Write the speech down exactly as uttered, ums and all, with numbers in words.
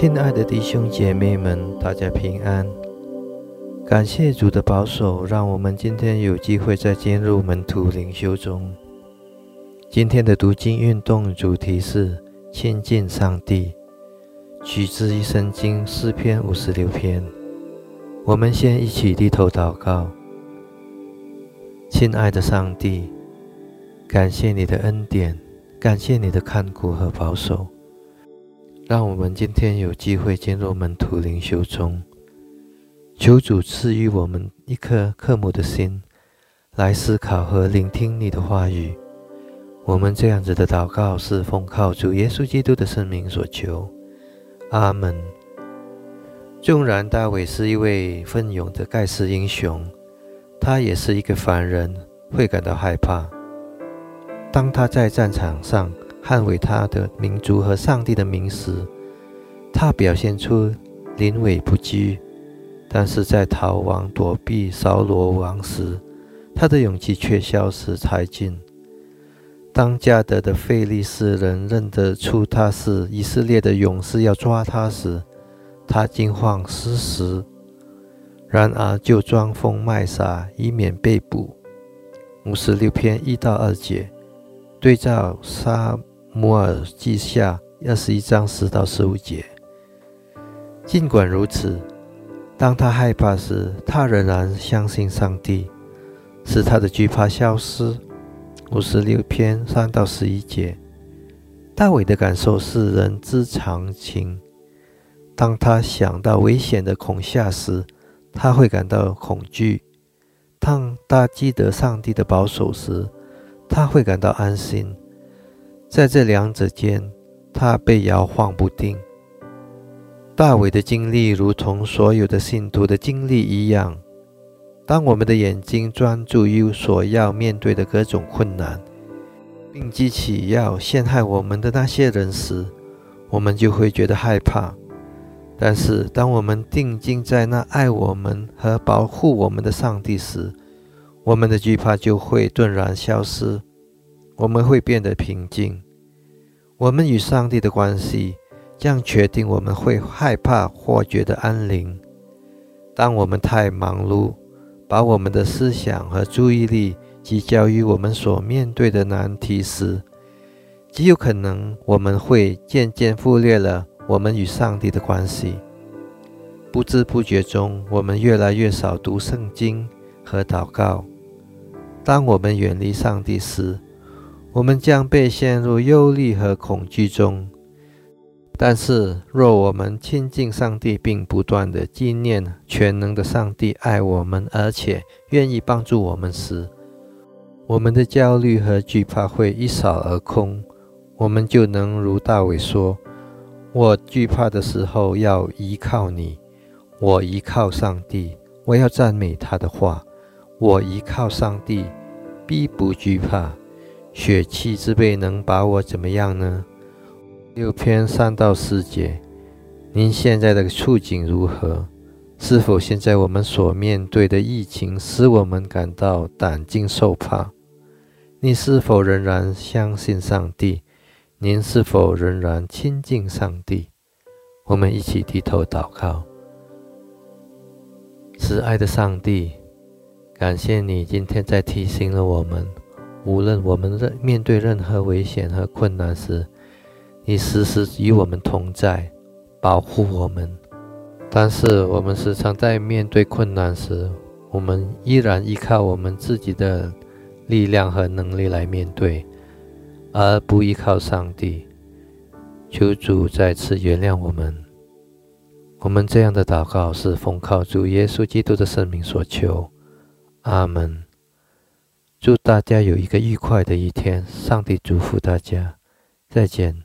亲爱的弟兄姐妹们，大家平安。感谢主的保守，让我们今天有机会再进入门徒灵修中。今天的读经运动主题是亲近上帝，取自于圣经诗篇五十六篇。我们先一起低头祷告。亲爱的上帝，感谢你的恩典，感谢你的看顾和保守，让我们今天有机会进入门徒灵修中。求主赐予我们一颗渴慕的心，来思考和聆听你的话语。我们这样子的祷告是奉靠主耶稣基督的圣名所求，阿们。纵然大卫是一位奋勇的盖世英雄，他也是一个凡人，会感到害怕。当他在战场上捍卫他的民族和上帝的名时，他表现出临危不惧，但是在逃亡躲避扫罗王时，他的勇气却消失殆尽。当迦得的非利士人认得出他是以色列的勇士要抓他时，他惊慌失时，然而就装疯卖傻，以免被捕。五十六篇一到二节，对照撒母耳记下二十一章十到十五节。尽管如此，当他害怕时，他仍然相信上帝，使他的惧怕消失。五十六篇三到十一节，大卫的感受是人之常情。当他想到危险的恐吓时，他会感到恐惧；当他记得上帝的保守时，他会感到安心。在这两者间，他被摇晃不定。大卫的经历如同所有的信徒的经历一样，当我们的眼睛专注于所要面对的各种困难，并记起要陷害我们的那些人时，我们就会觉得害怕。但是当我们定睛在那爱我们和保护我们的上帝时，我们的惧怕就会顿然消失，我们会变得平静。我们与上帝的关系将决定我们会害怕或觉得安宁。当我们太忙碌，把我们的思想和注意力聚焦于我们所面对的难题时，极有可能我们会渐渐忽略了我们与上帝的关系。不知不觉中，我们越来越少读圣经和祷告。当我们远离上帝时，我们将被陷入忧虑和恐惧中。但是若我们亲近上帝，并不断地纪念全能的上帝爱我们，而且愿意帮助我们时，我们的焦虑和惧怕会一扫而空。我们就能如大卫说，我惧怕的时候要依靠你，我依靠上帝，我要赞美他的话，我依靠上帝，必不惧怕。血气之辈能把我怎么样呢？六篇三到四节，您现在的处境如何？是否现在我们所面对的疫情使我们感到胆惊受怕？你是否仍然相信上帝？您是否仍然亲近上帝？我们一起低头祷告。慈爱的上帝，感谢你今天在提醒了我们，无论我们面对任何危险和困难时，你时时与我们同在，保护我们。但是我们时常在面对困难时，我们依然依靠我们自己的力量和能力来面对，而不依靠上帝。求主再次原谅我们。我们这样的祷告是奉靠主耶稣基督的圣名所求，阿们。祝大家有一个愉快的一天，上帝祝福大家，再见。